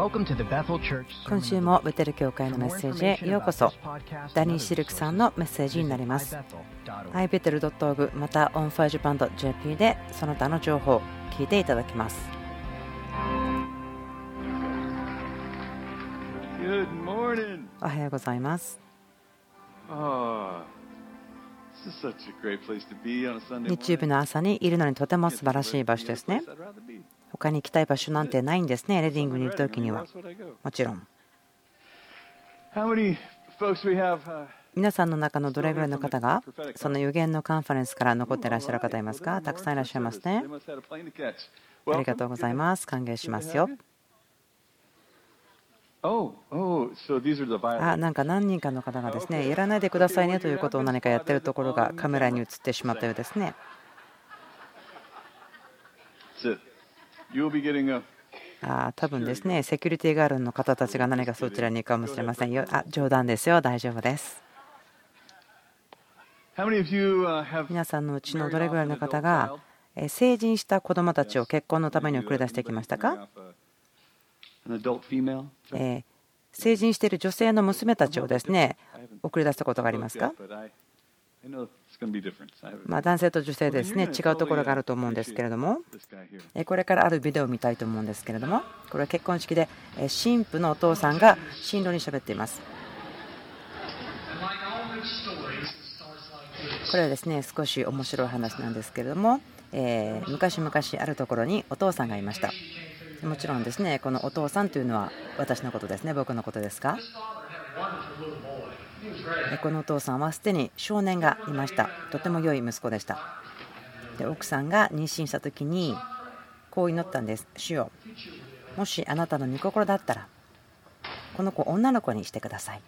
今週もベテル教会のメッセージへようこそ。ダニー・シルクさんのメッセージになります。ibetel.org また onfirejapan.jp でその他の情報を聞いていただきます。おはようございます。日曜日の朝にいるのにとても素晴らしい場所ですね。他に行きたい場所なんてないんですね。レディングにいるときにはもちろん。皆さんの中のどれぐらいの方がその予言のカンファレンスから残っていらっしゃる方いますか？たくさんいらっしゃいますね。ありがとうございます。歓迎しますよ。なんか何人かの方がですね、やらないでくださいねということを何かやっているところがカメラに映ってしまったようですね。多分ですね、セキュリティガールの方たちが何かそちらに行くかもしれませんよ。冗談ですよ。大丈夫です。皆さんのうちのどれぐらいの方が成人した子どもたちを結婚のために送り出してきましたか？成人している女性の娘たちをですね、送り出したことがありますか？男性と女性ですね、違うところがあると思うんですけれども、これからあるビデオを見たいと思うんですけれども、これは結婚式で新婦のお父さんが新郎に喋っています。これはですね、少し面白い話なんですけれども、昔々あるところにお父さんがいました。もちろんですね、このお父さんというのは私のことですね、僕のことですが、このお父さんはすでに少年がいました。とても良い息子でした。で、奥さんが妊娠した時にこう祈ったんです。主よ、もしあなたの御心だったらこの子を女の子にしてください。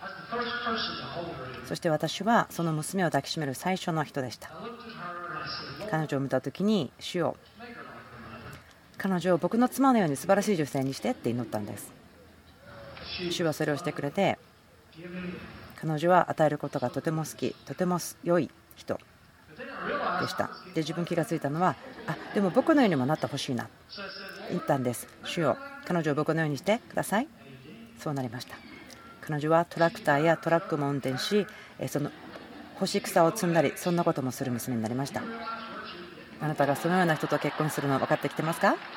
そして私はその娘を抱きしめる最初の人でした。彼女を見た時に、主よ、彼女を僕の妻のように素晴らしい女性にしてって祈ったんです。主はそれをしてくれて、彼女は与えることがとても好き、とても良い人でした。で、自分気がついたのは、でも僕のようにもなってほしいな言ったんです。主よ、彼女を僕のようにしてください。そうなりました。彼女はトラクターやトラックも運転し、その干し草を積んだり、そんなこともする娘になりました。あなたがそのような人と結婚するの分かってきてますか？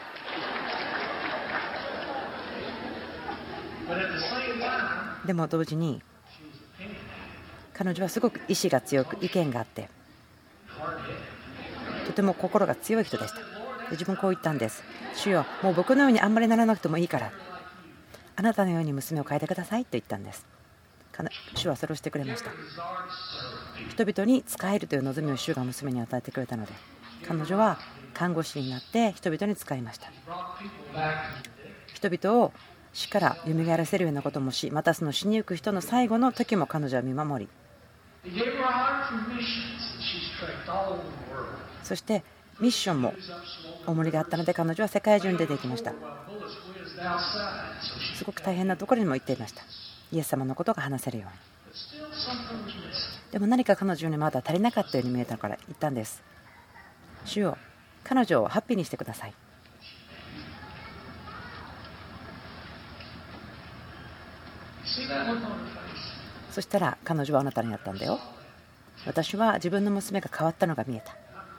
でも同時に彼女はすごく意志が強く、意見があって、とても心が強い人でした。で、自分こう言ったんです。主よ、もう僕のようにあんまりならなくてもいいから、あなたのように娘を変えてくださいと言ったんです。主はそれをしてくれました。人々に仕えるという望みを主が娘に与えてくれたので、彼女は看護師になって人々に仕えました。人々を死から蘇らせるようなこともし、またその死にゆく人の最後の時も彼女は見守り、そしてミッションも重りがあったので、彼女は世界中に出ていきました。すごく大変なところにも行っていました。イエス様のことが話せるように。でも何か彼女にまだ足りなかったように見えたから言ったんです。主よ、彼女をハッピーにしてください。そしたら彼女はあなたになったんだよ。私は自分の娘が変わったのが見えた。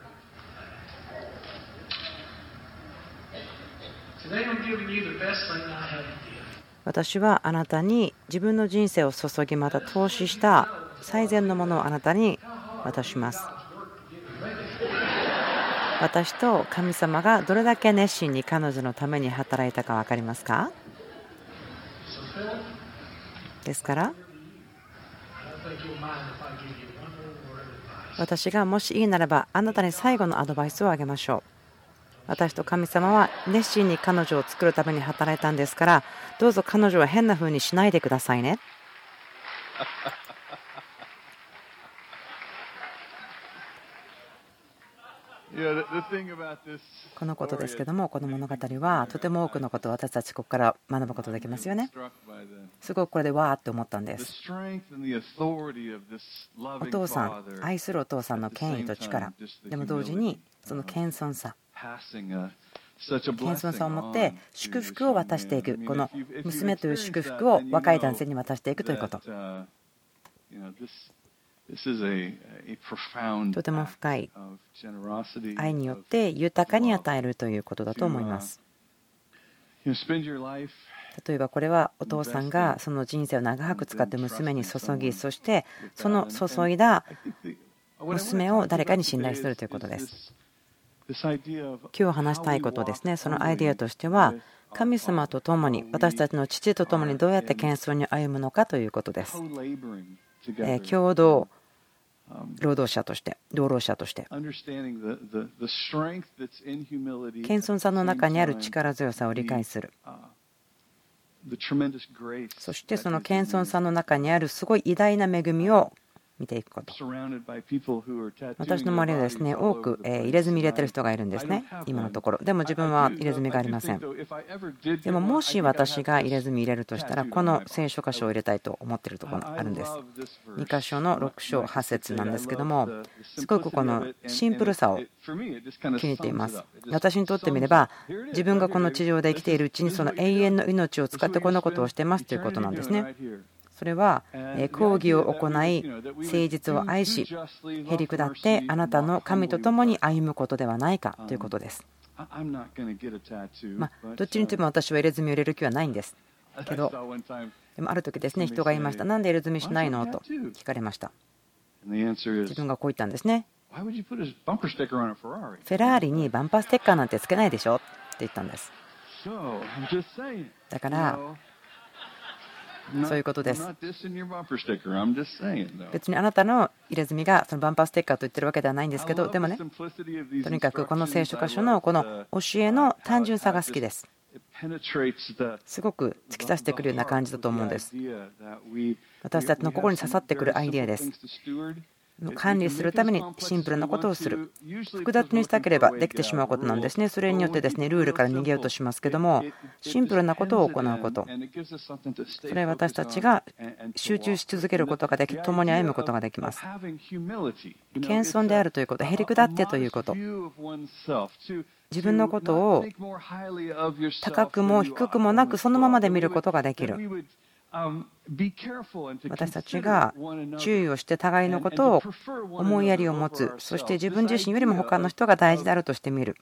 私はあなたに自分の人生を注ぎ、また投資した最善のものをあなたに渡します。私と神様がどれだけ熱心に彼女のために働いたか分かりますか？ですから私がもしいいならばあなたに最後のアドバイスをあげましょう。私と神様は熱心に彼女を作るために働いたんですから、どうぞ彼女は変な風にしないでくださいね。このことですけども、この物語はとても多くのことを私たちここから学ぶことができますよね。すごくこれでわーって思ったんです。お父さん、愛するお父さんの権威と力でも同時にその謙遜さ、 謙遜さを持って祝福を渡していく、この娘という祝福を若い男性に渡していくということ、とても深い愛によって豊かに与えるということだと思います。例えばこれはお父さんがその人生を長く使って娘に注ぎ、そしてその注いだ娘を誰かに信頼するということです。今日話したいことですね、そのアイデアとしては、神様と共に、私たちの父と共にどうやって謙遜に歩むのかということです。共同労働者として、同労者として、謙遜さの中にある力強さを理解する。そしてその謙遜さの中にあるすごい偉大な恵みを見ていくこと。私の周りはですね、多く入れ墨入れてる人がいるんですね、今のところ。でも自分は入れ墨がありません。でももし私が入れ墨入れるとしたら、この聖書箇所を入れたいと思っているところがあるんです。2箇所の6章8節なんですけども、すごくこのシンプルさを気に入っています。私にとってみれば、自分がこの地上で生きているうちにその永遠の命を使ってこのことをしてますということなんですね。それは公義を行い、誠実を愛し、へり下ってあなたの神と共に歩むことではないかということです。どっちにとっても私は入れ墨を入れる気はないんですけど、でもある時ですね、人が言いました。なんで入れ墨しないのと聞かれました。自分がこう言ったんですね。フェラーリにバンパーステッカーなんてつけないでしょって言ったんです。だからそういうことです。別にあなたの入れ墨がそのバンパーステッカーと言ってるわけではないんですけど、でもね、とにかくこの聖書箇所のこの教えの単純さが好きです。すごく突き刺してくるような感じだと思うんです。私たちの心に刺さってくるアイデアです。管理するためにシンプルなことをする。複雑にしたければできてしまうことなんですね。それによってですね、ルールから逃げようとしますけども、シンプルなことを行うこと。それは私たちが集中し続けることができ、共に歩むことができます。謙遜であるということ、へりくだってということ。自分のことを高くも低くもなくそのままで見ることができる。私たちが注意をして互いのことを思いやりを持つ、そして自分自身よりも他の人が大事であるとして見る。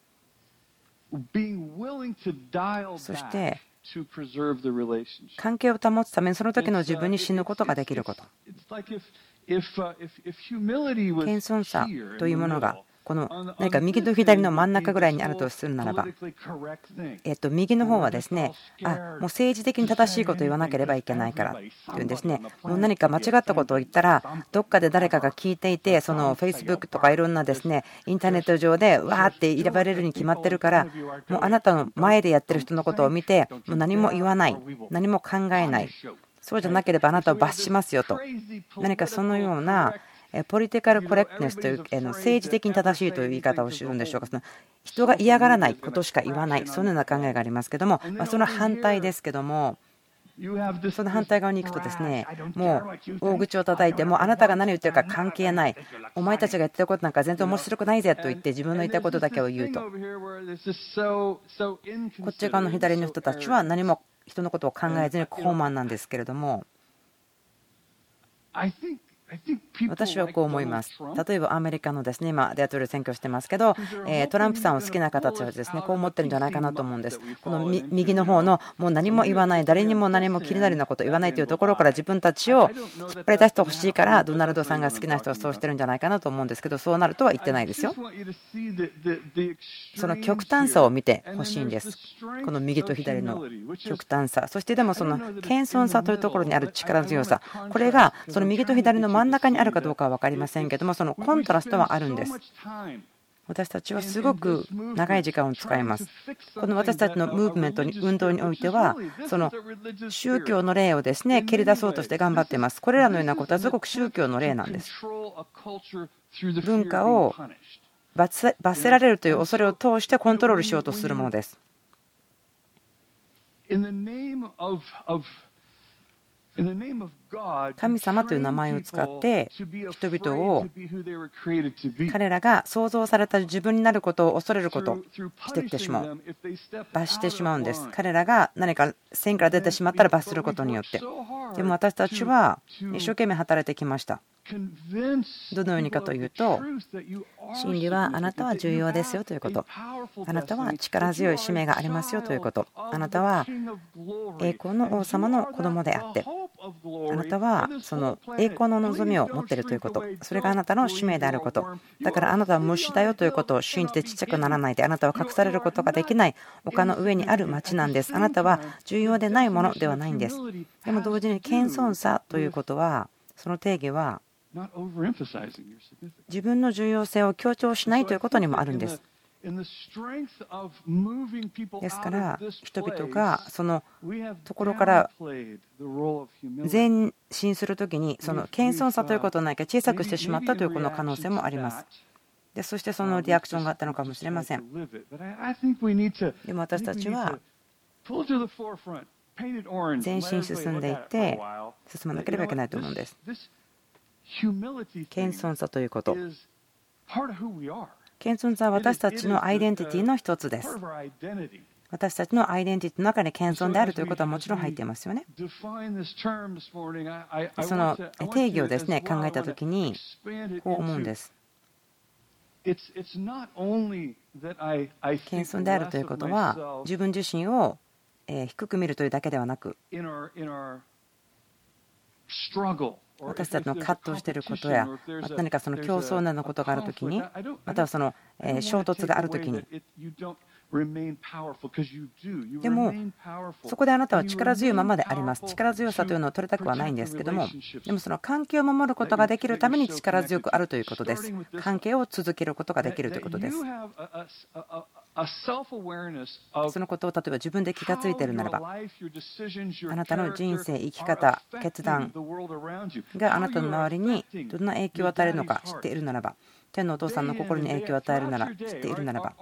そして関係を保つためにその時の自分に死ぬことができること。謙遜さというものがこの何か右と左の真ん中ぐらいにあるとするならば、右の方はですね、もう政治的に正しいことを言わなければいけないからっていうんですね。もう何か間違ったことを言ったらどっかで誰かが聞いていて、その Facebook とかいろんなですねインターネット上でわーって選ばれるに決まってるから、もうあなたの前でやってる人のことを見てもう何も言わない、何も考えない、そうじゃなければあなたを罰しますよと、何かそのようなポリティカルコレクトネスという政治的に正しいという言い方をするんでしょうか。その人が嫌がらないことしか言わない、そのような考えがありますけども、その反対ですけども、その反対側に行くとですね、もう大口を叩いて、もうあなたが何を言ってるか関係ない、お前たちが言ってることなんか全然面白くないぜと言って自分の言ったことだけを言うと、こっち側の左の人たちは何も人のことを考えずに高慢なんですけれども、私はこう思います。例えばアメリカのですね、今大統領選挙してますけど、トランプさんを好きな方たちはですね、こう思ってるんじゃないかなと思うんです。この右の方のもう何も言わない、誰にも何も気になるようなことを言わないというところから自分たちを引っ張り出してほしいから、ドナルドさんが好きな人はそうしてるんじゃないかなと思うんですけど、そうなるとは言ってないですよ。その極端さを見てほしいんです。この右と左の極端さ、そしてでもその謙遜さというところにある力強さ、これがその右と左の真ん中にあるかどうかは分かりませんけども、そのコントラストはあるんです。私たちはすごく長い時間を使います。この私たちのムーブメントに運動においては、その宗教の例をですね蹴り出そうとして頑張っています。これらのようなことはすごく宗教の例なんです。文化を罰せられるという恐れを通してコントロールしようとするものです。 神様という名前を使って人々を彼らが創造された自分になることを恐れることをしてきてしまう、罰してしまうんです。彼らが何か線から出てしまったら罰することによって。でも私たちは一生懸命働いてきました。どのようにかというと、真理はあなたは重要ですよということ、あなたは力強い使命がありますよということ、あなたは栄光の王様の子供であって、あなたはその栄光の望みを持っているということ、それがあなたの使命であること、だからあなたは虫だよということを信じてちっちゃくならないで、あなたは隠されることができない丘の上にある町なんです。あなたは重要でないものではないんです。でも同時に謙遜さということは、その定義は自分の重要性を強調しないということにもあるんです。ですから人々がそのところから前進するときに、その謙遜さということを何か小さくしてしまったというこの可能性もあります。でそしてそのリアクションがあったのかもしれません。でも私たちは前進進んでいって進まなければいけないと思うんです。謙遜さということ、謙遜さは私たちのアイデンティティの一つです。私たちのアイデンティティの中に謙遜であるということはもちろん入っていますよね。その定義をですね考えたときにこう思うんです。謙遜であるということは自分自身を低く見るというだけではなく、私たちの葛藤していることや何かその競争などのことがあるときに、またはその衝突があるときに、でもそこであなたは力強いままであります。力強さというのを取りたくはないんですけども、でもその関係を守ることができるために力強くあるということです。関係を続けることができるということです。そのことを例えば自分で気がついているならば、あなたの人生、生き方、決断があなたの周りにどんな影響を与えるのか知っているならば、天のお父さんの心に影響を与えるなら知っているならば、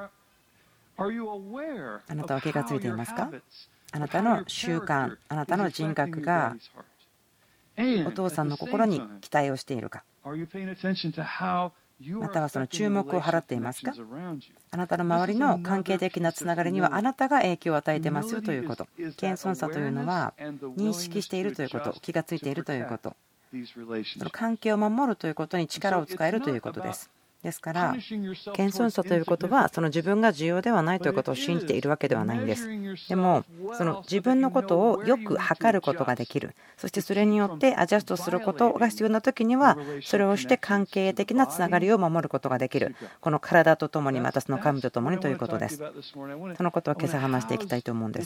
あなたは気がついていますか？あなたの習慣、あなたの人格がお父さんの心に期待をしているか、またはその注目を払っていますか？あなたの周りの関係的なつながりにはあなたが影響を与えていますよということ。謙遜さというのは認識しているということ、気がついているということ、その関係を守るということに力を使えるということです。ですから謙遜さということはその自分が重要ではないということを信じているわけではないんです。でもその自分のことをよく測ることができる、そしてそれによってアジャストすることが必要な時にはそれをして関係的なつながりを守ることができる、この体とともにまたその神とともにということです。そのことを今朝話していきたいと思うんです。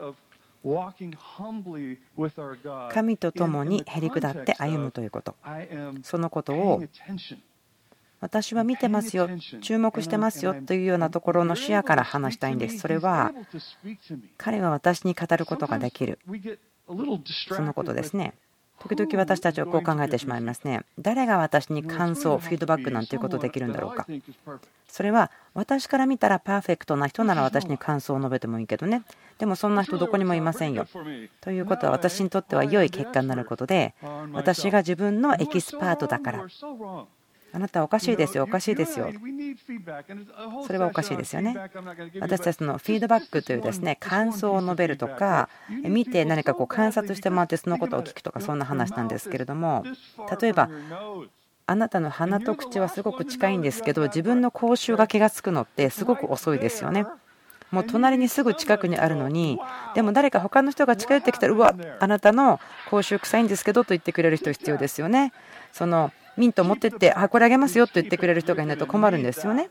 神とともにへり下って歩むということ、そのことを私は見てますよ、注目してますよというようなところの視野から話したいんです。それは彼は私に語ることができる、そのことですね。時々私たちはこう考えてしまいますね。誰が私に感想、フィードバックなんていうことできるんだろうか。それは私から見たらパーフェクトな人なら私に感想を述べてもいいけどね、でもそんな人どこにもいませんよ。ということは私にとっては良い結果になることで、私が自分のエキスパートだから、あなたはおかしいですよ、おかしいですよ、それはおかしいですよね。私たちのフィードバックというですね、感想を述べるとか、見て何かこう観察してもらってそのことを聞くとか、そんな話なんですけれども、例えばあなたの鼻と口はすごく近いんですけど、自分の口臭が気がつくのってすごく遅いですよね。もう隣にすぐ近くにあるのに、でも誰か他の人が近寄ってきたら、うわ、あなたの口臭臭いんですけどと言ってくれる人必要ですよね。そのミント持ってって、これあげますよと言ってくれる人がいないと困るんですよね。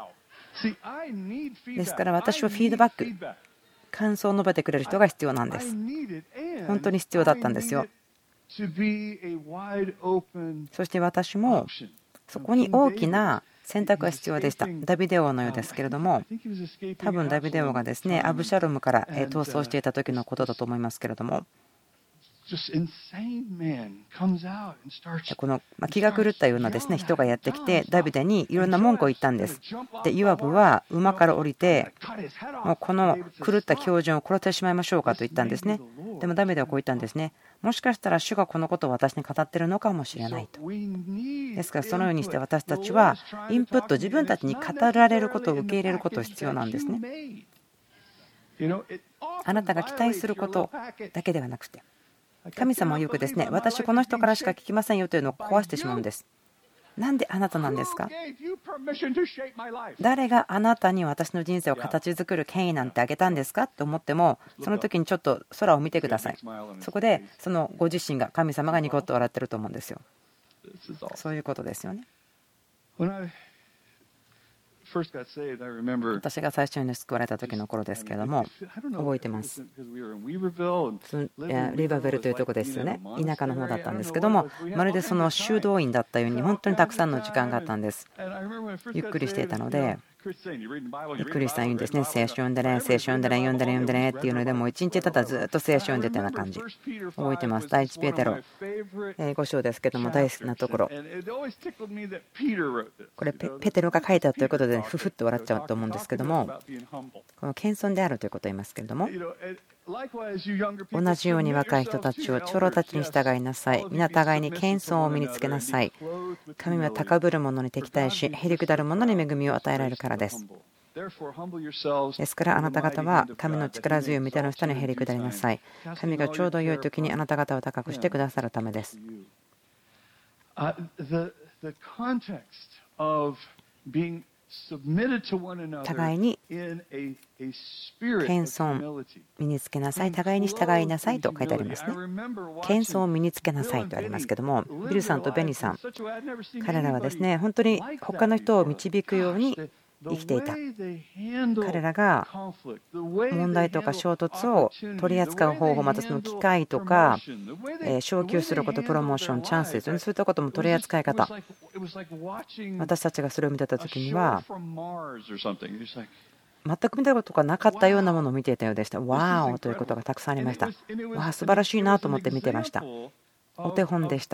ですから私はフィードバック、感想を述べてくれる人が必要なんです。本当に必要だったんですよ。そして私もそこに大きな選択が必要でした。ダビデ王のようですけれども、多分ダビデ王がですね、アブシャロムから逃走していた時のことだと思いますけれども、この気が狂ったようなですね人がやってきてダビデにいろんな文句を言ったんです。でヨアブは馬から降りて、もうこの狂った狂人を殺してしまいましょうかと言ったんですね。でもダビデはこう言ったんですね。 もしかしたら主がこのことを私に語っているのかもしれないと。ですからそのようにして私たちはインプット、自分たちに語られることを受け入れることが必要なんですね。あなたが期待することだけではなくて、神様はよくですね、私この人からしか聞きませんよというのを壊してしまうんです。なんであなたなんですか？誰があなたに私の人生を形作る権威なんてあげたんですかと思っても、その時にちょっと空を見てください。そこでそのご自身が、神様がニコッと笑ってると思うんですよ。そういうことですよね。私が最初に救われた時の頃ですけれども、覚えてます。リバーベルというところですよね。田舎の方だったんですけども、まるでその修道院だったように本当にたくさんの時間があったんです。ゆっくりしていたので、クリスさん言うんですね、聖書読んでね、聖書読んでね、読んでね、読んでねっていうので、もう一日ただずっと聖書読んでたような感じ。覚えてます。第一ペテロ5章ですけども、大好きなところ。これペテロが書いたということで、ふふっと笑っちゃうと思うんですけども、この謙遜であるということを言いますけれども、同じように若い人たちを長老たちに従いなさい。皆互いに謙遜を身につけなさい。神は高ぶる者に敵対し、へりくだる者に恵みを与えられるからです。ですからあなた方は神の力強い御手の下にへりくだりなさい。神がちょうど良い時にあなた方を高くしてくださるためです。互いに謙遜身につけなさい、互いに従いなさいと書いてありますね。謙遜を身につけなさいとありますけども、ビルさんとベニさん、彼らはですね、本当に他の人を導くように生きていた。彼らが問題とか衝突を取り扱う方法、またその機会とか昇給すること、プロモーション、チャンスですよね、そういったことも取り扱い方、私たちがそれを見てた時には全く見たことがなかったようなものを見ていたようでした。ワーオということがたくさんありました。わあ、素晴らしいなと思って見てました。お手本でした。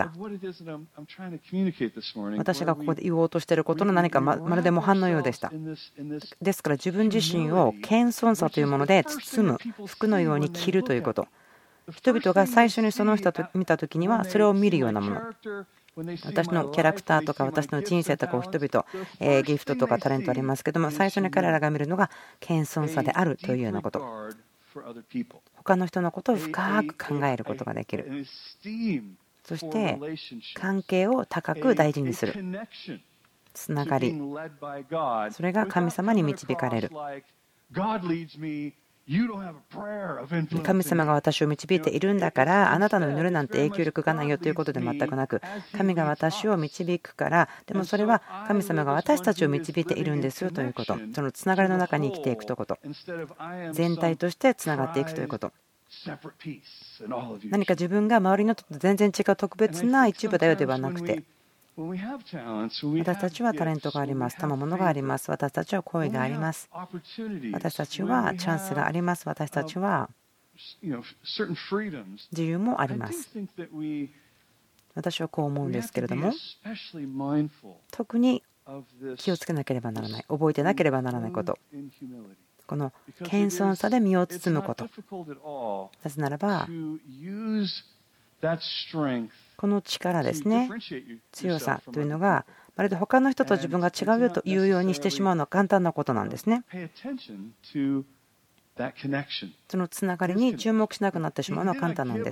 私がここで言おうとしていることの何かまるで模範のようでした。ですから自分自身を謙遜さというもので包む服のように着るということ。人々が最初にその人を見た時にはそれを見るようなもの。私のキャラクターとか私の人生とかを人々ギフトとかタレントありますけども、最初に彼らが見るのが謙遜さであるというようなこと。他の人のことを深く考えることができる。そして関係を高く大事にする。つながり。それが神様に導かれる。神様が私を導いているんだから、あなたの祈りなんて影響力がないよということで全くなく、神が私を導くから、でもそれは神様が私たちを導いているんですよということ。そのつながりの中に生きていくということ。全体としてつながっていくということ。何か自分が周りの人と全然違う特別な一部だよではなくて、私たちはタレントがあります。賜物があります。私たちは声があります。私たちはチャンスがあります。私たちは自由もあります。私はこう思うんですけれども、特に気をつけなければならない、覚えてなければならないこと、この謙遜さで身を包むこと。なぜならばこの力ですね、強さというのがまるで他の人と自分が違うよというようにしてしまうのは簡単なことなんですね。そのつながりに注目しなくなってしまうのは簡単なんです。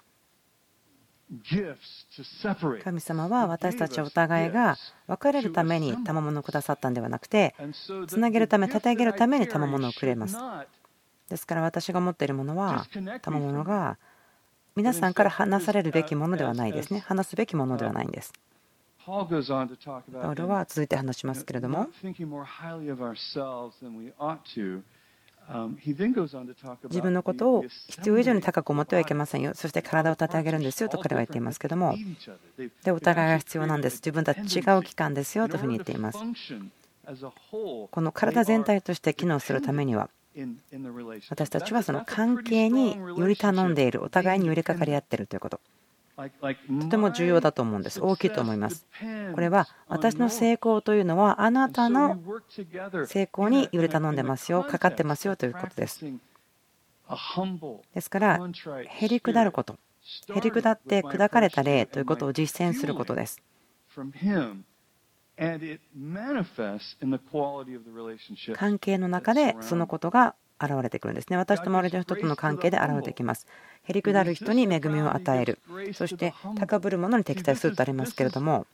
神様は私たちお互いが別れるために賜物をくださったんではなくて、つなげるため、立て上げるために賜物をくれます。ですから私が持っているものは、賜物が皆さんから話されるべきものではないですね。話すべきものではないんです。パウロは続いて話しますけれども、自分のことを必要以上に高く思ってはいけませんよ。そして体を立て上げるんですよと彼は言っていますけども、でお互いが必要なんです。自分たち違う器官ですよというふうに言っています。この体全体として機能するためには、私たちはその関係により頼んでいる、お互いに寄りかかり合っているということ、とても重要だと思うんです。大きいと思います。これは私の成功というのはあなたの成功により頼んでますよ、かかってますよということです。ですからへりくだること、 へりくだって砕かれた霊ということを実践することです。関係の中でそのことが現れてくるんですね。私と周りの人との関係で現れてきます。へりくだる人に恵みを与える、そして高ぶる者に敵対するとありますけれども、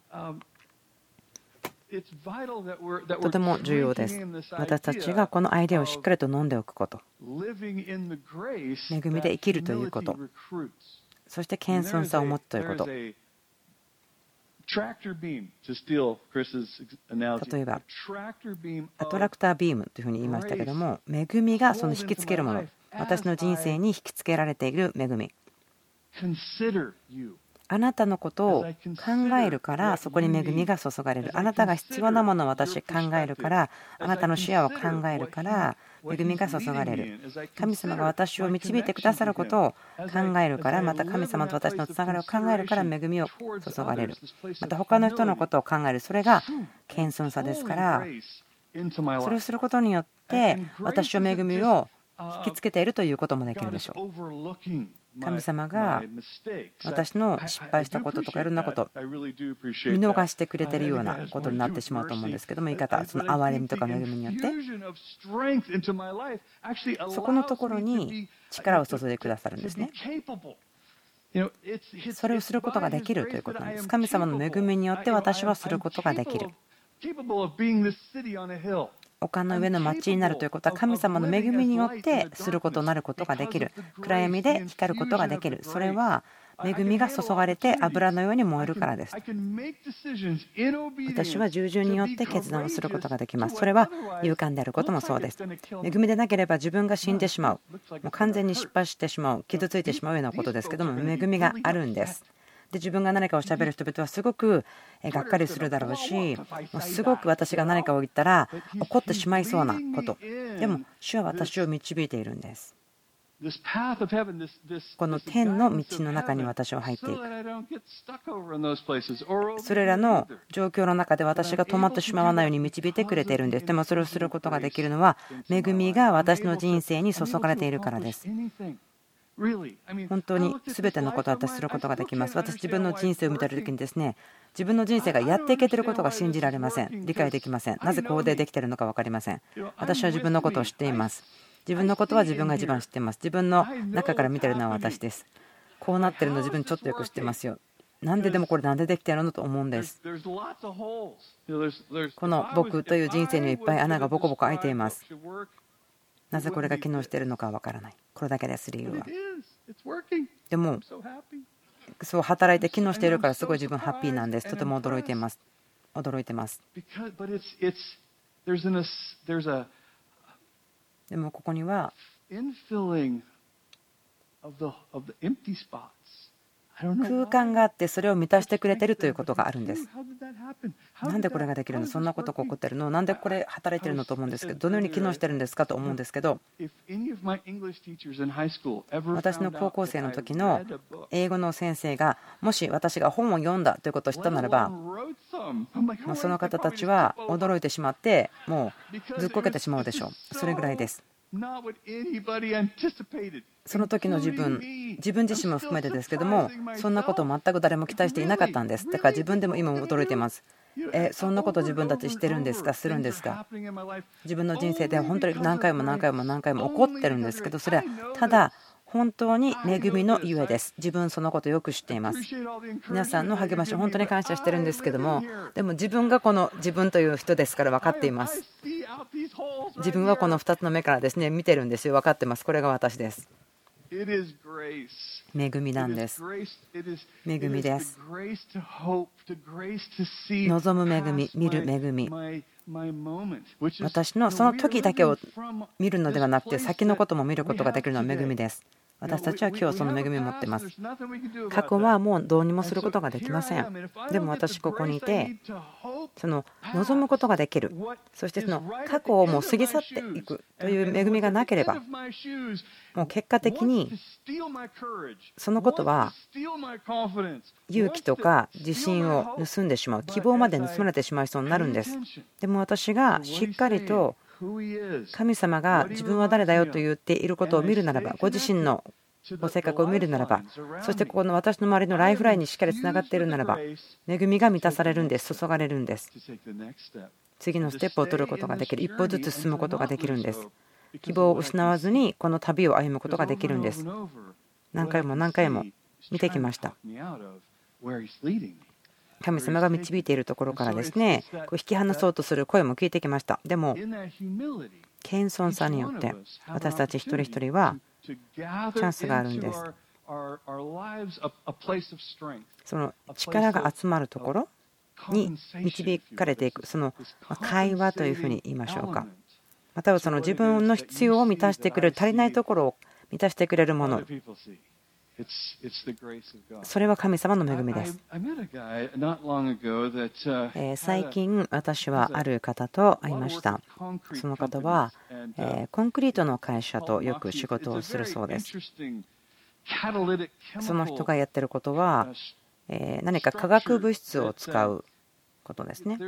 とても重要です。私たちがこのアイデアをしっかりと飲んでおくこと、恵みで生きるということ、そして謙遜さを持つということ。例えばアトラクタービームというふうに言いましたけども、恵みがその引きつけるもの、私の人生に引きつけられている恵み、あなたのことを考えるからそこに恵みが注がれる。あなたが必要なものを私考えるから、あなたの視野を考えるから恵みが注がれる。神様が私を導いてくださることを考えるから、また神様と私のつながりを考えるから恵みを注がれる。また他の人のことを考える、それが謙遜さですから、それをすることによって私を恵みを引きつけているということもできるでしょう。神様が私の失敗したこととかいろんなこと見逃してくれているようなことになってしまうと思うんですけども、言い方、その憐れみとか恵みによってそこのところに力を注いでくださるんですね。それをすることができるということなんです。神様の恵みによって私はすることができる。丘の上の町になるということは、神様の恵みによってすることになることができる。暗闇で光ることができる。それは恵みが注がれて油のように燃えるからです。私は従順によって決断をすることができます。それは勇敢であることもそうです。恵みでなければ自分が死んでしまう、もう完全に失敗してしまう、傷ついてしまうようなことですけども、恵みがあるんです。で、自分が何かをしゃべる人々はすごくがっかりするだろうし、すごく私が何かを言ったら怒ってしまいそうなこと。でも主は私を導いているんです。この天の道の中に私は入っていく。それらの状況の中で私が止まってしまわないように導いてくれているんです。でもそれをすることができるのは恵みが私の人生に注がれているからです。本当に全てのことを私することができます。私自分の人生を見た時にですね、自分の人生がやっていけていることが信じられません。理解できません。なぜこうできているのか分かりません。私は自分のことを知っています。自分のことは自分が一番知っています。自分の中から見ているのは私です。こうなっているの自分ちょっとよく知ってますよ。なんででもこれなんでできているのと思うんです。この僕という人生にはいっぱい穴がボコボコ開いています。なぜこれが機能しているのかわからない。これだけです理由は。でもそう働いて機能しているからすごい自分ハッピーなんです。とても驚いています。驚いてます。でもここには空間があってそれを満たしてくれているということがあるんです。なんでこれができるの、そんなことが起こってるの、なんでこれ働いてるのと思うんですけど、どのように機能してるんですかと思うんですけど、私の高校生の時の英語の先生がもし私が本を読んだということを知ったならば、その方たちは驚いてしまってもうずっこけてしまうでしょう。それぐらいです。その時の自分自身も含めてですけども、そんなことを全く誰も期待していなかったんです。だから自分でも今も驚いています。そんなこと自分たちしてるんですか、するんですか。自分の人生で本当に何回も何回も何回も起こってるんですけど、それはただ本当に恵みのゆえです。自分そのことよく知っています。皆さんの励まし本当に感謝してるんですけども、でも自分がこの自分という人ですから分かっています。自分はこの2つの目からですね見てるんですよ。分かってます。これが私です。恵みなんです。恵みです。望む恵み、見る恵み、私のその時だけを見るのではなくて先のことも見ることができるのは恵みです。私たちは今日その恵みを持っています。過去はもうどうにもすることができません。でも私ここにいてその望むことができる。そしてその過去をもう過ぎ去っていくという恵みがなければ、もう結果的にそのことは勇気とか自信を盗んでしまう、希望まで盗まれてしまいそうになるんです。でも私がしっかりと神様が自分は誰だよと言っていることを見るならば、ご自身のご性格を見るならば、そしてここの私の周りのライフラインにしっかりつながっているならば、恵みが満たされるんです。注がれるんです。次のステップを取ることができる。一歩ずつ進むことができるんです。希望を失わずにこの旅を歩むことができるんです。何回も何回も見てきました。神様が導いているところからですね、引き離そうとする声も聞いてきました。でも謙遜さによって私たち一人一人はチャンスがあるんです。その力が集まるところに導かれていく、その会話というふうに言いましょうか、またはその自分の必要を満たしてくれる、足りないところを満たしてくれるもの、それは神様の恵みです。最近私はある方と会いました。その方はコンクリートの会社とよく仕事をするそうです。その人がやってることは何か化学物質を使うことですね。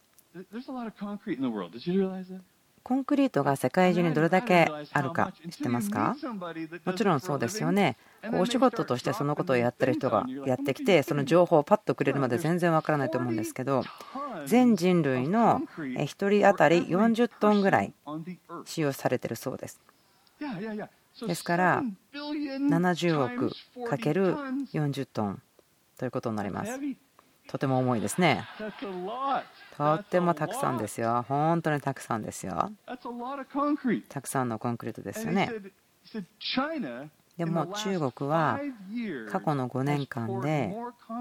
コンクリートが世界中にどれだけあるか知ってますか？もちろんそうですよね。お仕事としてそのことをやってる人がやってきて、その情報をパッとくれるまで全然わからないと思うんですけど、全人類の1人当たり40トンぐらい使用されているそうです。ですから70億かける40トンということになります。とても重いですね。とってもたくさんですよ。本当にたくさんですよ。たくさんのコンクリートですよね。でも中国は過去の5年間で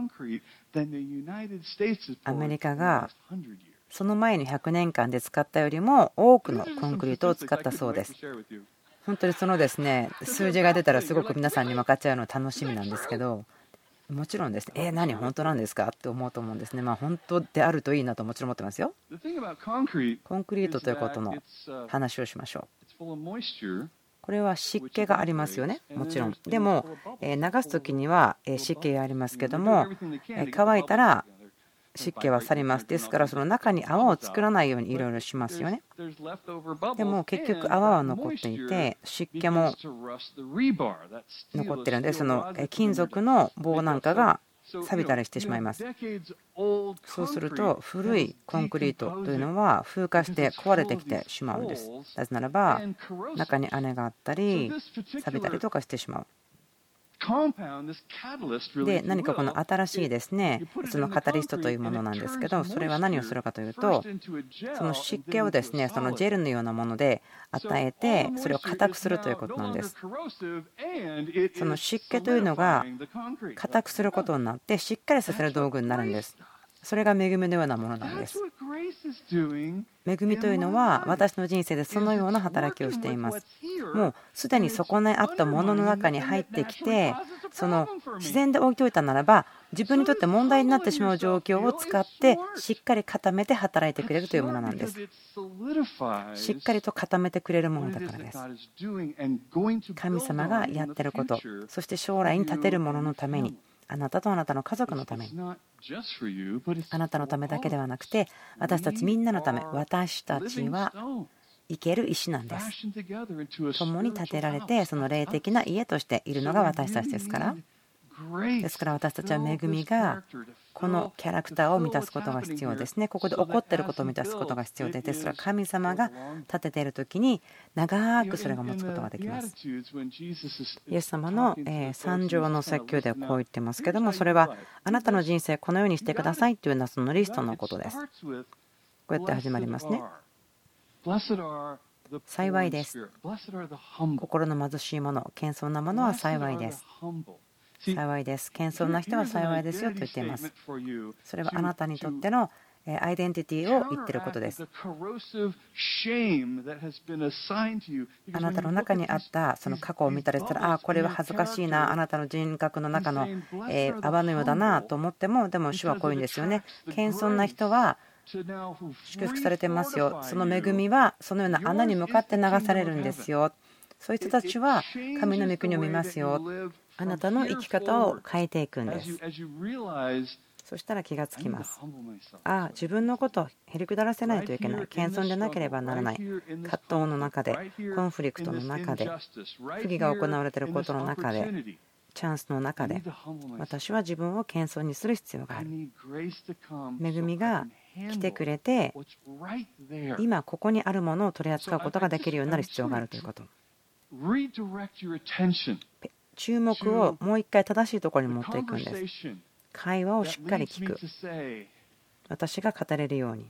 アメリカがその前の100年間で使ったよりも多くのコンクリートを使ったそうです。本当にそのですね、数字が出たらすごく皆さんに分かっちゃうの楽しみなんですけど、もちろんですね、何本当なんですかって思うと思うんですね。本当であるといいなともちろん思ってますよ。コンクリートということの話をしましょう。これは湿気がありますよね、もちろん。でも流す時には湿気がありますけども、乾いたら湿気は去ります。ですからその中に泡を作らないようにいろいろしますよね。でも結局泡は残っていて湿気も残ってるんで、その金属の棒なんかが錆びたりしてしまいます。そうすると古いコンクリートというのは風化して壊れてきてしまうんです。なぜならば中に穴があったり錆びたりとかしてしまう。で何かこの新しいですね、そのカタリストというものなんですけど、それは何をするかというと、その湿気をですね、そのジェルのようなもので与えてそれを硬くするということなんです。その湿気というのが硬くすることになってしっかりさせる道具になるんです。それが恵みのようなものなんです。恵みというのは私の人生でそのような働きをしています。もうすでにそこにあったものの中に入ってきて、その自然で置いておいたならば自分にとって問題になってしまう状況を使ってしっかり固めて働いてくれるというものなんです。しっかりと固めてくれるものだからです。神様がやってること、そして将来に立てるもののために、あなたとあなたの家族のために、あなたのためだけではなくて私たちみんなのため、私たちは生ける石なんです。共に建てられてその霊的な家としているのが私たちですから。ですから私たちは恵みがこのキャラクターを満たすことが必要ですね。ここで起こっていることを満たすことが必要で、ですから神様が立てている時に長くそれが持つことができます。イエス様の三条の説教ではこう言ってますけども、それはあなたの人生このようにしてくださいというのはそのリストのことです。こうやって始まりますね。幸いです。心の貧しい者、謙遜な者は幸いです。幸いです。謙遜な人は幸いですよと言っています。それはあなたにとってのアイデンティティを言っていることです。あなたの中にあったその過去を見たりしたら、これは恥ずかしいな、あなたの人格の中の泡のようだなと思っても、でも主はこういうんですよね。謙遜な人は祝福されてますよ。その恵みはそのような穴に向かって流されるんですよ。そういう人たちは神の御国を見ますよ。あなたの生き方を変えていくんです。 そしたら気がつきます。自分のことをへりくだらせないといけない。謙遜でなければならない。葛藤の中で、コンフリクトの中で、不義が行われていることの中で、チャンスの中で、私は自分を謙遜にする必要がある。恵みが来てくれて、今ここにあるものを取り扱うことができるようになる必要があるということ。注目をもう一回正しいところに持っていくんです。会話をしっかり聞く。私が語れるように。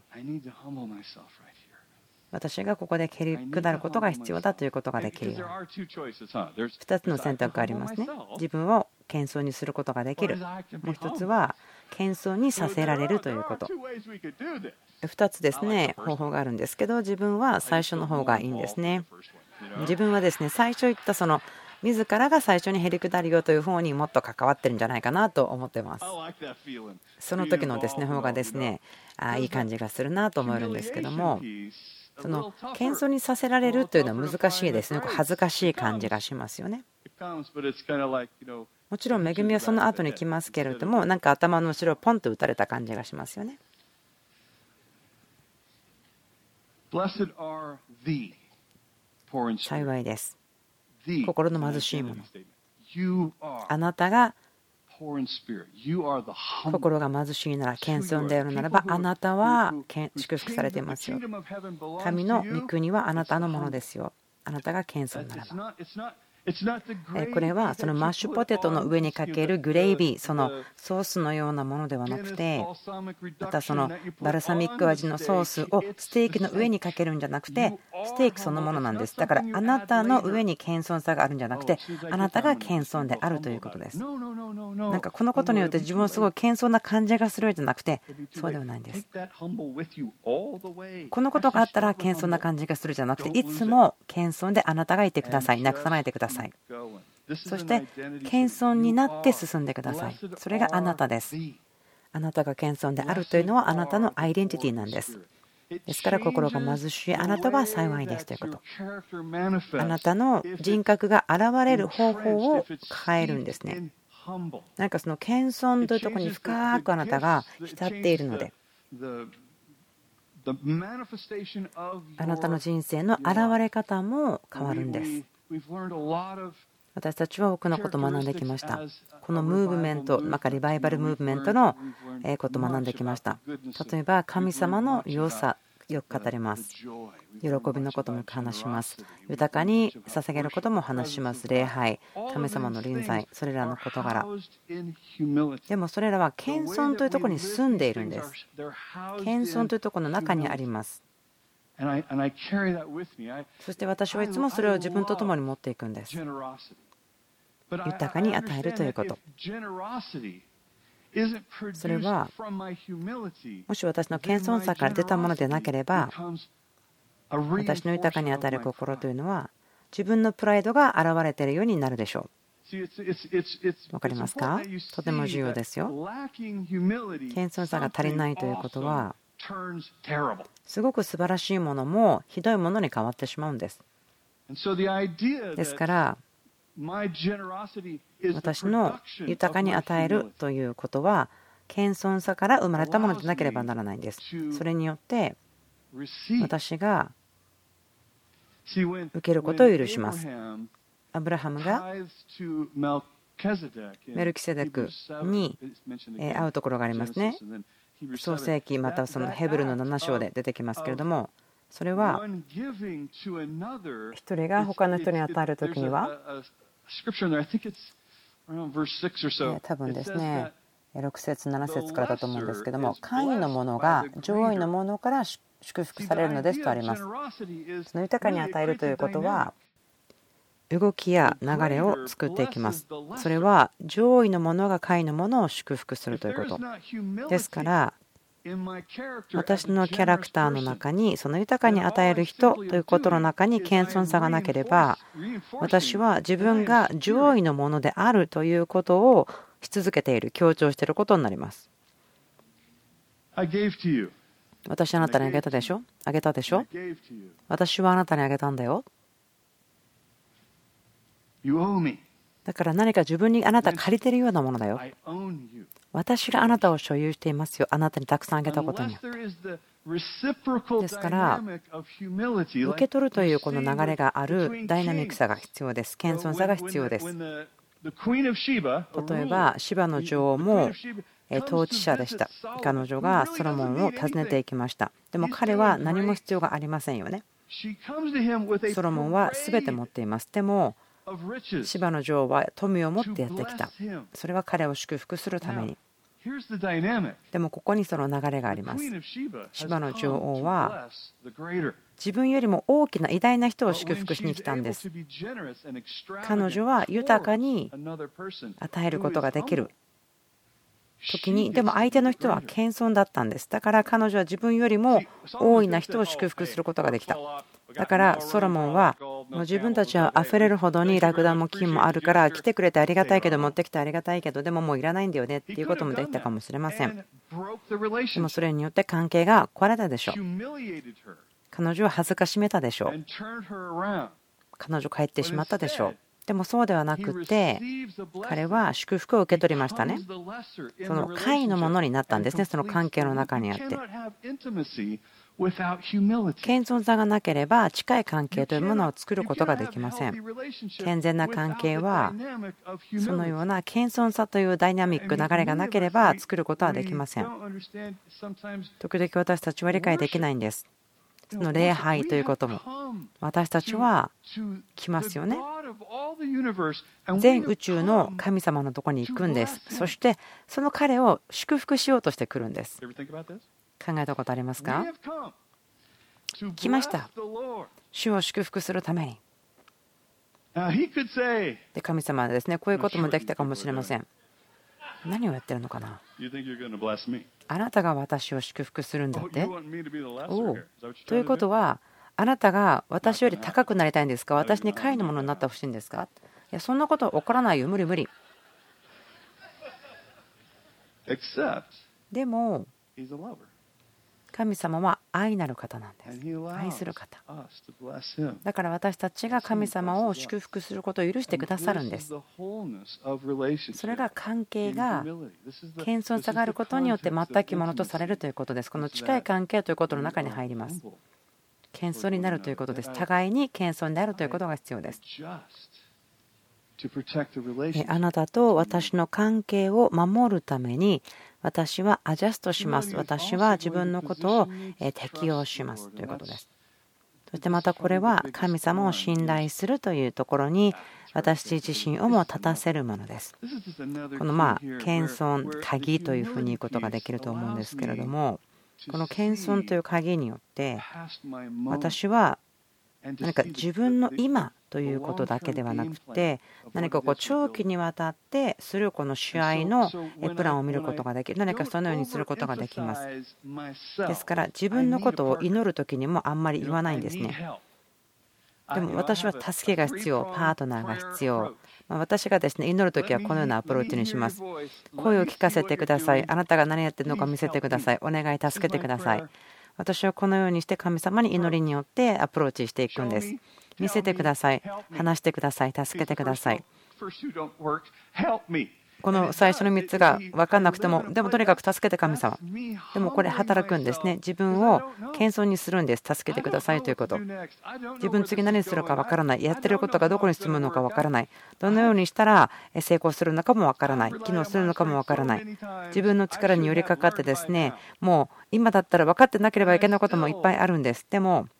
私がここで蹴り下ることが必要だということができるように。2つの選択がありますね。自分を謙遜にすることができる。もう1つは謙遜にさせられるということ。2つですね、方法があるんですけど、自分は最初の方がいいんですね。自分はですね、最初言ったその自らが最初にへりくだるよという方にもっと関わってるんじゃないかなと思ってます。その時のですね方がですね、いい感じがするなと思えるんですけども、その謙遜にさせられるというのは難しいですね。恥ずかしい感じがしますよね。もちろん恵みはその後に来ますけれども、なんか頭の後ろをポンと打たれた感じがしますよね。幸いです。心の貧しいもの。あなたが心が貧しいなら、謙遜であるならば、あなたは祝福されていますよ。神の御国はあなたのものですよ。あなたが謙遜ならば。これはそのマッシュポテトの上にかけるグレイビー、そのソースのようなものではなくて、またそのバルサミック味のソースをステーキの上にかけるんじゃなくて、ステーキそのものなんです。だからあなたの上に謙遜さがあるんじゃなくて、あなたが謙遜であるということです。なんかこのことによって自分をすごい謙遜な感じがするんじゃなくて、そうではないんです。このことがあったら謙遜な感じがするじゃなくて、いつも謙遜であなたがいてください。なくさないでください。そして謙遜になって進んでください。それがあなたです。あなたが謙遜であるというのはあなたのアイデンティティなんです。ですから心が貧しいあなたは幸いですということ。あなたの人格が現れる方法を変えるんですね。なんかその謙遜というところに深くあなたが浸っているので、あなたの人生の現れ方も変わるんです。私たちは多くのことを学んできました。このムーブメント、リバイバルムーブメントのことを学んできました。例えば神様の良さ、よく語ります。喜びのことも話します。豊かに捧げることも話します。礼拝、神様の臨在、それらの事柄。でもそれらは謙遜というところに住んでいるんです。謙遜というところの中にあります。そして私はいつもそれを自分と共に持っていくんです。豊かに与えるということ。それはもし私の謙遜さから出たものでなければ、私の豊かに与える心というのは自分のプライドが現れているようになるでしょう。わかりますか？とても重要ですよ。謙遜さが足りないということは、すごく素晴らしいものもひどいものに変わってしまうんです。ですから私の豊かに与えるということは謙遜さから生まれたものでなければならないんです。それによって私が受けることを許します。アブラハムがメルキセデクに会うところがありますね。創世記またはそのヘブルの7章で出てきますけれども、それは一人が他の人に与えるときには多分ですね6節7節からだと思うんですけども、下位のものが上位のものから祝福されるのですとあります。その豊かに与えるということは動きや流れを作っていきます。それは上位のものが下位のものを祝福するということですから、私のキャラクターの中にその豊かに与える人ということの中に謙遜さがなければ、私は自分が上位のものであるということをし続けている、強調していることになります。私はあなたにあげたでしょ？あげたでしょ？私はあなたにあげたんだよ。だから何か自分にあなた借りてるようなものだよ。 私があなたを所有していますよ、あなたにたくさんあげたことによって。ですから受け取るというこの流れがあるダイナミックさが必要です。謙遜さが必要です。例えばシバの女王も統治者でした。彼女がソロモンを訪ねていきました。でも彼は何も必要がありませんよね。ソロモンは全て持っています。でもシバの女王は富を持ってやってきた。それは彼を祝福するために。でもここにその流れがあります。シバの女王は自分よりも大きな偉大な人を祝福しに来たんです。彼女は豊かに与えることができる時に、でも相手の人は謙遜だったんです。だから彼女は自分よりも大いな人を祝福することができた。だからソロモンはもう自分たちは溢れるほどにラクダも金もあるから来てくれてありがたいけど持ってきてありがたいけどでももういらないんだよねっていうこともできたかもしれません。でもそれによって関係が壊れたでしょう。彼女は恥ずかしめたでしょう。彼女帰ってしまったでしょう。でもそうではなくて彼は祝福を受け取りましたね。その下位のものになったんですね。その関係の中にあって謙遜さがなければ近い関係というものを作ることができません。健全な関係はそのような謙遜さというダイナミック流れがなければ作ることはできません。時々私たちは理解できないんです。その礼拝ということも私たちは来ますよね。全宇宙の神様のところに行くんです。そしてその彼を祝福しようとしてくるんです。考えたことありますか？来ました。主を祝福するために。で神様はですね、こういうこともできたかもしれません。何をやってるのかな。あなたが私を祝福するんだって。おう。ということはあなたが私より高くなりたいんですか？私に下位のものになってほしいんですか？いやそんなこと起こらないよ。無理無理。でも神様は愛なる方なんです。愛する方だから私たちが神様を祝福することを許してくださるんです。それが関係が謙遜さがあることによって全くものとされるということです。この近い関係ということの中に入ります。謙遜になるということです。互いに謙遜であるということが必要です。あなたと私の関係を守るために私はアジャストします。私は自分のことを適用しますということです。そしてまたこれは神様を信頼するというところに私自身をも立たせるものです。この謙遜鍵というふうに言うことができると思うんですけれども、この謙遜という鍵によって私は何か自分の今ということだけではなくて何か長期にわたってするこの試合のプランを見ることができる。何かそのようにすることができます。ですから自分のことを祈る時にもあんまり言わないんですね。でも私は助けが必要、パートナーが必要。私がですね祈る時はこのようなアプローチにします。声を聞かせてください。あなたが何やってるのか見せてください。お願い助けてください。私はこのようにして神様に祈りによってアプローチしていくんです。見せてください。話してください。助けてください。この最初の3つが分からなくても、でもとにかく助けて神様。でもこれ働くんですね。自分を謙遜にするんです。助けてくださいということ。自分次何するか分からない。やってることがどこに進むのか分からない。どのようにしたら成功するのかも分からない。機能するのかも分からない。自分の力に寄りかかってですね、もう今だったら分かってなければいけないこともいっぱいあるんです。でも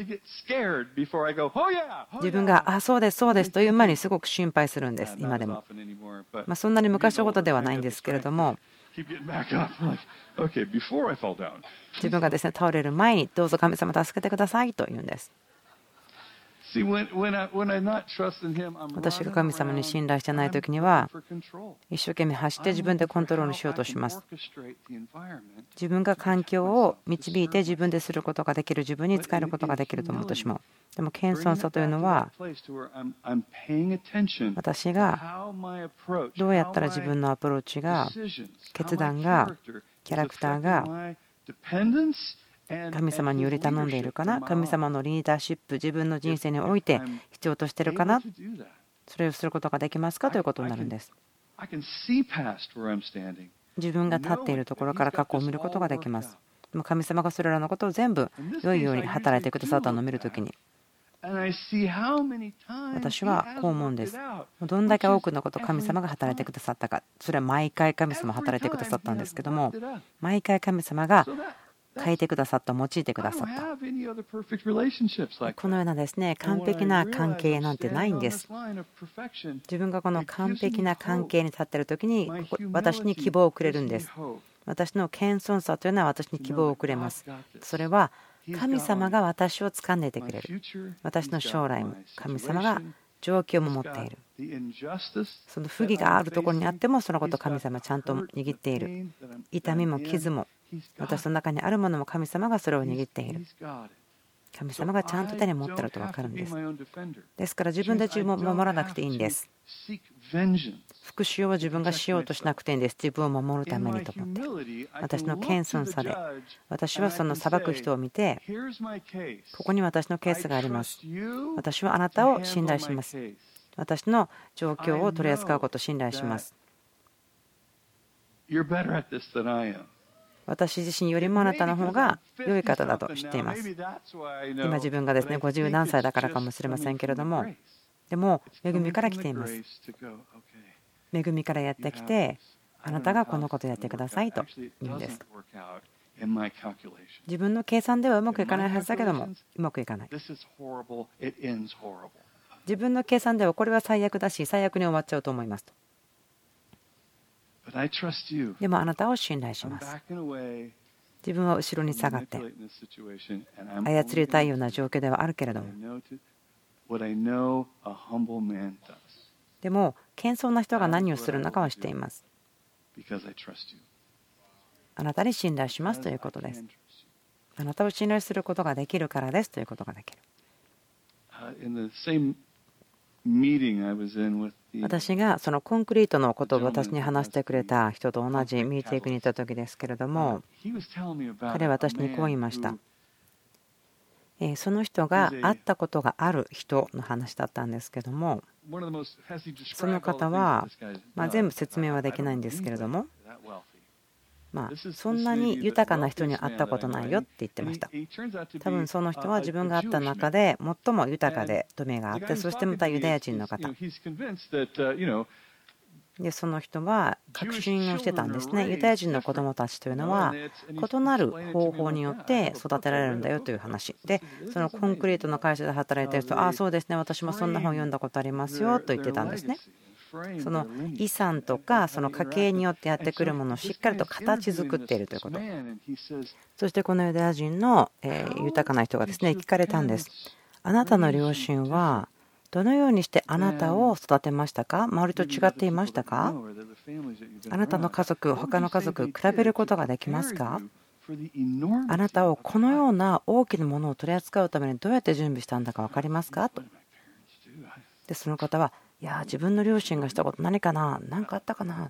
自分がそうですそうですという前にすごく心配するんです。今でもそんなに昔のことではないんですけれども、自分がですね倒れる前にどうぞ神様助けてくださいと言うんです。私が神様に信頼してない時には一生懸命走って自分でコントロールしようとします。自分が環境を導いて自分ですることができる、自分に使えることができると思ってしまう。でも謙遜さというのは私がどうやったら自分のアプローチが、決断が、キャラクターが神様により頼んでいるかな、神様のリーダーシップ、自分の人生において必要としているかな、それをすることができますかということになるんです。 自分が立っているところから過去を見ることができます。でも神様がそれらのことを全部良いように働いてくださったのを見るときに、私はこう思うんです。どんだけ多くのことを神様が働いてくださったか。それは毎回神様が働いてくださったんですけども、毎回神様が変えてくださった、用いてくださった。このようなですね、完璧な関係なんてないんです。自分がこの完璧な関係に立っているときに、私に希望をくれるんです。私の謙遜さというのは私に希望をくれます。それは神様が私を掴んでいてくれる。私の将来も神様が状況も持っている。その不義があるところにあっても、そのことを神様はちゃんと握っている。痛みも傷も私の中にあるものも神様がそれを握っている。神様がちゃんと手に持っていると分かるんです。ですから自分で自分を守らなくていいんです。復讐を自分がしようとしなくていいんです。自分を守るためにと思って。私の謙遜さで私はその裁く人を見て、ここに私のケースがあります。私はあなたを信頼します。私の状況を取り扱うことを信頼します。私自身よりもあなたの方が良い方だと知っています。今自分がですね50何歳だからかもしれませんけれども、でも恵みから来ています。恵みからやってきて、あなたがこのことをやってくださいと言うんです。自分の計算ではうまくいかないはずだけども、うまくいかない。自分の計算ではこれは最悪だし、最悪に終わっちゃうと思いますと。でもあなたを信頼します。自分は後ろに下がって操りたいような状況ではあるけれども、でも謙遜な人が何をするのかは知っています。あなたに信頼しますということです。あなたを信頼することができるからですということができる。私がそのコンクリートのことを私に話してくれた人と同じミーティングに行った時ですけれども、彼は私にこう言いました。その人が会ったことがある人の話だったんですけども、その方は全部説明はできないんですけれども、そんなに豊かな人に会ったことないよって言ってました。多分その人は自分が会った中で最も豊かで富があって、そしてまたユダヤ人の方で、その人は確信をしてたんですね。ユダヤ人の子どもたちというのは異なる方法によって育てられるんだよという話で、そのコンクリートの会社で働いている人、ああそうですね、私もそんな本読んだことありますよと言ってたんですね。その遺産とかその家系によってやってくるものをしっかりと形作っているということ。そしてこのユダヤ人の豊かな人がですね聞かれたんです。あなたの両親はどのようにしてあなたを育てましたか？周りと違っていましたか？あなたの家族、他の家族比べることができますか？あなたをこのような大きなものを取り扱うためにどうやって準備したんだか分かりますか？と。でその方は、いや自分の両親がしたこと何かな、何かあったかな、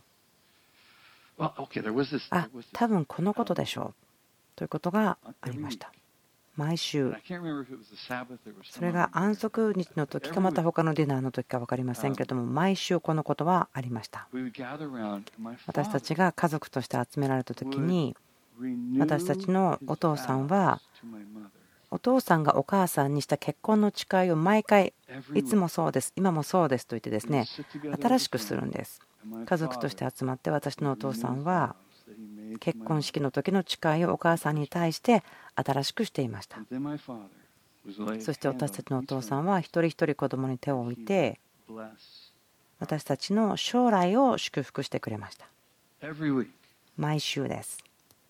多分このことでしょうということがありました。毎週、それが安息日の時かまた他のディナーの時か分かりませんけれども、毎週このことはありました。私たちが家族として集められた時に、私たちのお父さんはお父さんがお母さんにした結婚の誓いを毎回いつもそうです、今もそうですと言ってですね新しくするんです。家族として集まって私のお父さんは結婚式の時の誓いをお母さんに対して新しくしていました。そして私たちのお父さんは一人一人子供に手を置いて私たちの将来を祝福してくれました。毎週です。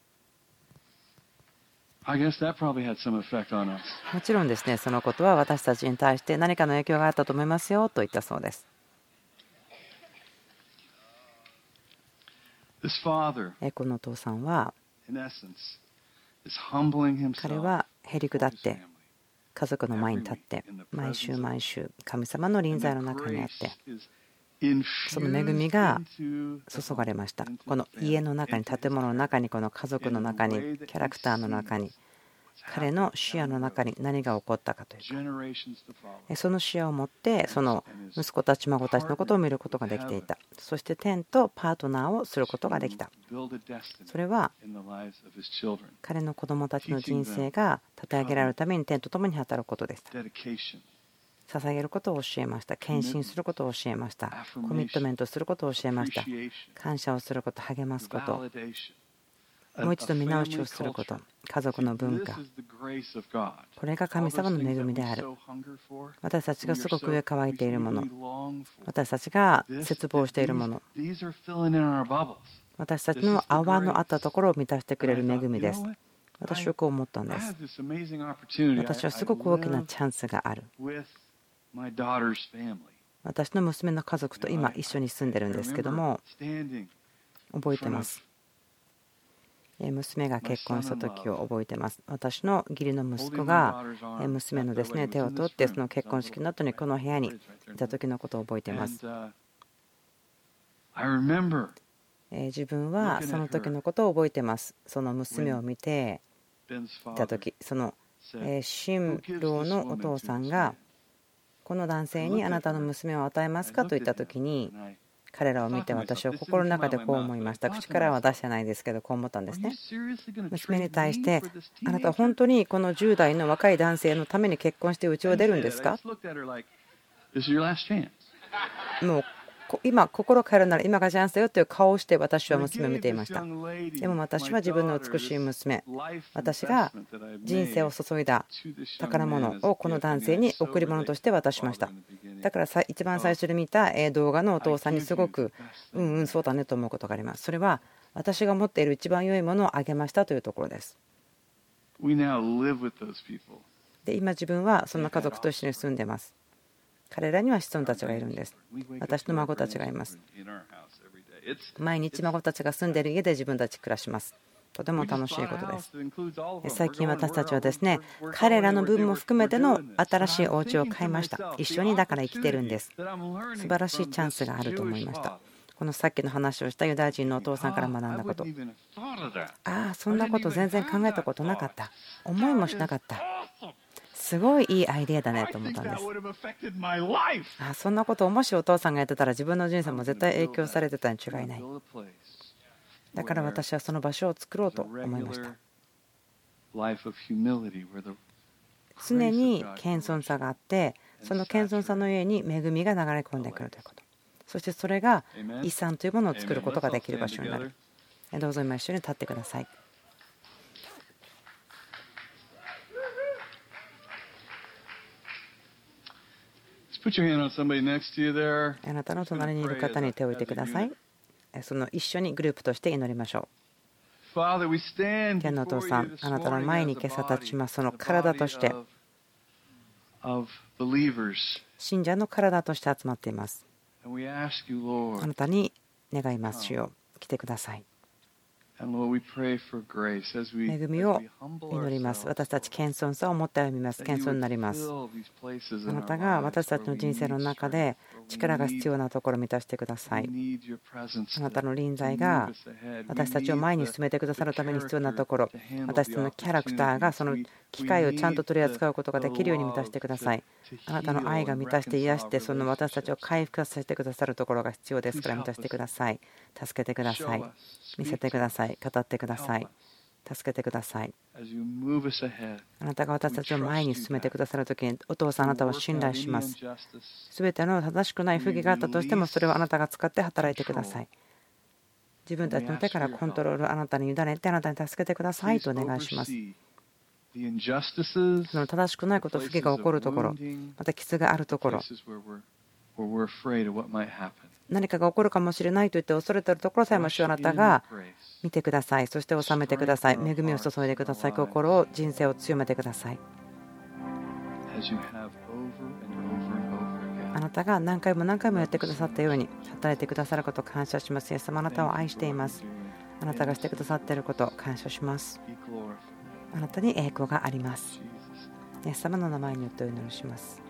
もちろんですね、そのことは私たちに対して何かの影響があったと思いますよと言ったそうです。このお父さんは彼はへり下って家族の前に立って毎週毎週神様の臨在の中にあってその恵みが注がれました。この家の中に、建物の中に、この家族の中に、キャラクターの中に、 彼の視野の中に何が起こったかというか、その視野を持ってその息子たち孫たちのことを見ることができていた。そして天とパートナーをすることができた。それは彼の子供たちの人生が立て上げられるために天と共に働くことでした。捧げることを教えました。献身することを教えました。コミットメントすることを教えました。感謝をすること、励ますこと、もう一度見直しをすること、家族の文化、これが神様の恵みである。私たちがすごく上乾いているもの、私たちが切望しているもの、私たちの泡のあったところを満たしてくれる恵みです。私はこう思ったんです。私はすごく大きなチャンスがある。私の娘の家族と今一緒に住んでるんですけども、覚えてます。娘が結婚した時を覚えてます。私の義理の息子が娘のですね、手を取ってその結婚式の後にこの部屋にいた時のことを覚えています。自分はその時のことを覚えてます。その娘を見ていた時、その新郎のお父さんがこの男性にあなたの娘を与えますかと言った時に、彼らを見て私は心の中でこう思いました。口からは出してないですけど、こう思ったんですね。娘に対して、あなたは本当にこの10代の若い男性のために結婚して家を出るんですか？もう今心変えるなら今がチャンスだよという顔をして私は娘を見ていました。でも私は自分の美しい娘、私が人生を注いだ宝物をこの男性に贈り物として渡しました。だから一番最初に見た動画のお父さんにすごくそうだねと思うことがあります。それは私が持っている一番良いものをあげましたというところです。で今自分はその家族と一緒に住んでます。彼らには子孫たちがいるんです。私の孫たちがいます。毎日孫たちが住んでいる家で自分たち暮らします。とても楽しいことです。最近私たちはですね、彼らの分も含めての新しいお家を買いました。一緒にだから生きてるんです。素晴らしいチャンスがあると思いました。このさっきの話をしたユダヤ人のお父さんから学んだこと。そんなこと全然考えたことなかった。思いもしなかった。すごいいいアイデアだねと思ったんです。そんなことをもしお父さんがやってたら自分の人生も絶対影響されてたに違いない。だから私はその場所を作ろうと思いました。常に謙遜さがあって、その謙遜さの上に恵みが流れ込んでくるということ。そしてそれが遺産というものを作ることができる場所になる。どうぞ今一緒に立ってください。あなたの隣にいる方に手を置いてください。その一緒にグループとして祈りましょう。天のお父さん、あなたの前に今朝立ちます。その体として、信者の体として集まっています。あなたに願いますよ。来てください。恵みを祈ります。私たち謙遜さを持って歩みます。謙遜になります。あなたが私たちの人生の中で力が必要なところを満たしてください。あなたの臨在が私たちを前に進めてくださるために必要なところ、私たちのキャラクターがその機会をちゃんと取り扱うことができるように満たしてください。あなたの愛が満たして癒して、その私たちを回復させてくださるところが必要ですから満たしてください。助けてください。見せてください。語ってください。助けてください。あなたが私たちを前に進めてくださるときに、お父さん、あなたを信頼します。すべての正しくない不義があったとしても、それをあなたが使って働いてください。自分たちの手からコントロールをあなたに委ねて、あなたに助けてくださいとお願いします。その正しくないこと、不義が起こるところ、また傷があるところ、何かが起こるかもしれないと言って恐れているところさえも主はあなたが見てください。そして治めてください。恵みを注いでください。心を、人生を強めてください。あなたが何回も何回もやってくださったように働いてくださることを感謝します。イエス様、あなたを愛しています。あなたがしてくださっていることを感謝します。あなたに栄光があります。イエス様の名前によってお祈りします。